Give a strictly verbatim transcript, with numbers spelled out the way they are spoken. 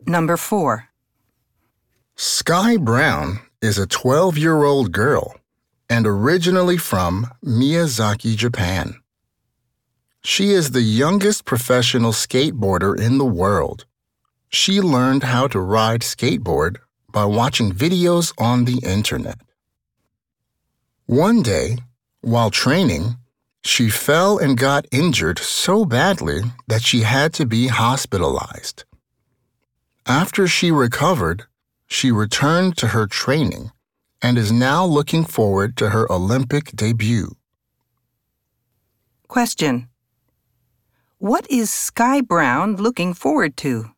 Number four. Sky Brown is a twelve-year-old girl and originally from Miyazaki, Japan. She is the youngest professional skateboarder in the world. She learned how to ride skateboard by watching videos on the internet. One day, while training, she fell and got injured so badly that she had to be hospitalized. After she recovered, she returned to her training and is now looking forward to her Olympic debut. Question. What is Sky Brown looking forward to?